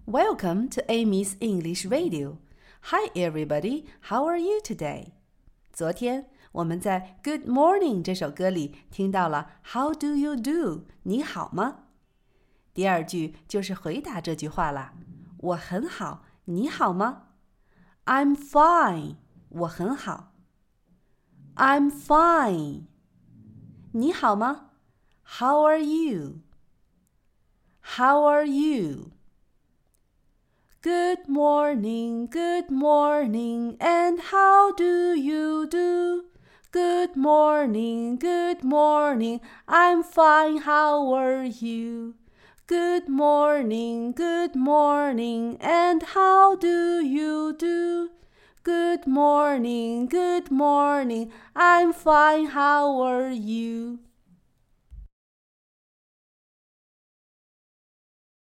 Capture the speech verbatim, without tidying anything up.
Welcome to Amy's English Radio. Hi everybody, how are you today? 昨天我们在 Good Morning 这首歌里听到了 How do you do? 你好吗？第二句就是回答这句话啦。我很好，你好吗？ I'm fine. 我很好。I'm fine. 你好吗？ How are you? How are you? Good morning, good morning, and how do you do? Good morning, good morning, I'm fine, how are you? Good morning, good morning, and how do you do? Good morning, good morning, I'm fine, how are you?